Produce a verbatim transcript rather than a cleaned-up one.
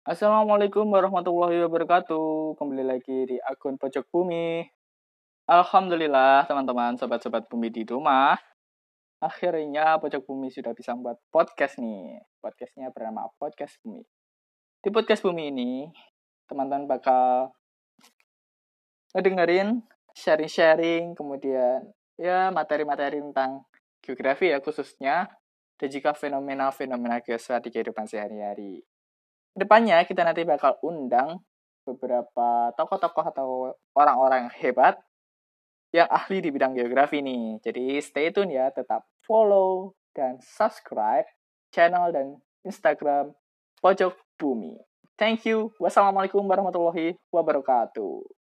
Assalamualaikum warahmatullahi wabarakatuh. Kembali lagi di akun Pojok Bumi. Alhamdulillah teman-teman, sobat-sobat bumi di rumah. Akhirnya Pojok Bumi sudah bisa membuat podcast nih. Podcastnya bernama Podcast Bumi. Di Podcast Bumi ini, teman-teman bakal ngedengerin sharing-sharing, kemudian ya materi-materi tentang geografi ya khususnya, dan juga fenomena-fenomena geosfer di kehidupan sehari-hari. Kedepannya kita nanti bakal undang beberapa tokoh-tokoh atau orang-orang hebat yang ahli di bidang geografi nih. Jadi stay tune ya, tetap follow dan subscribe channel dan Instagram Pojok Bumi. Thank you. Wassalamualaikum warahmatullahi wabarakatuh.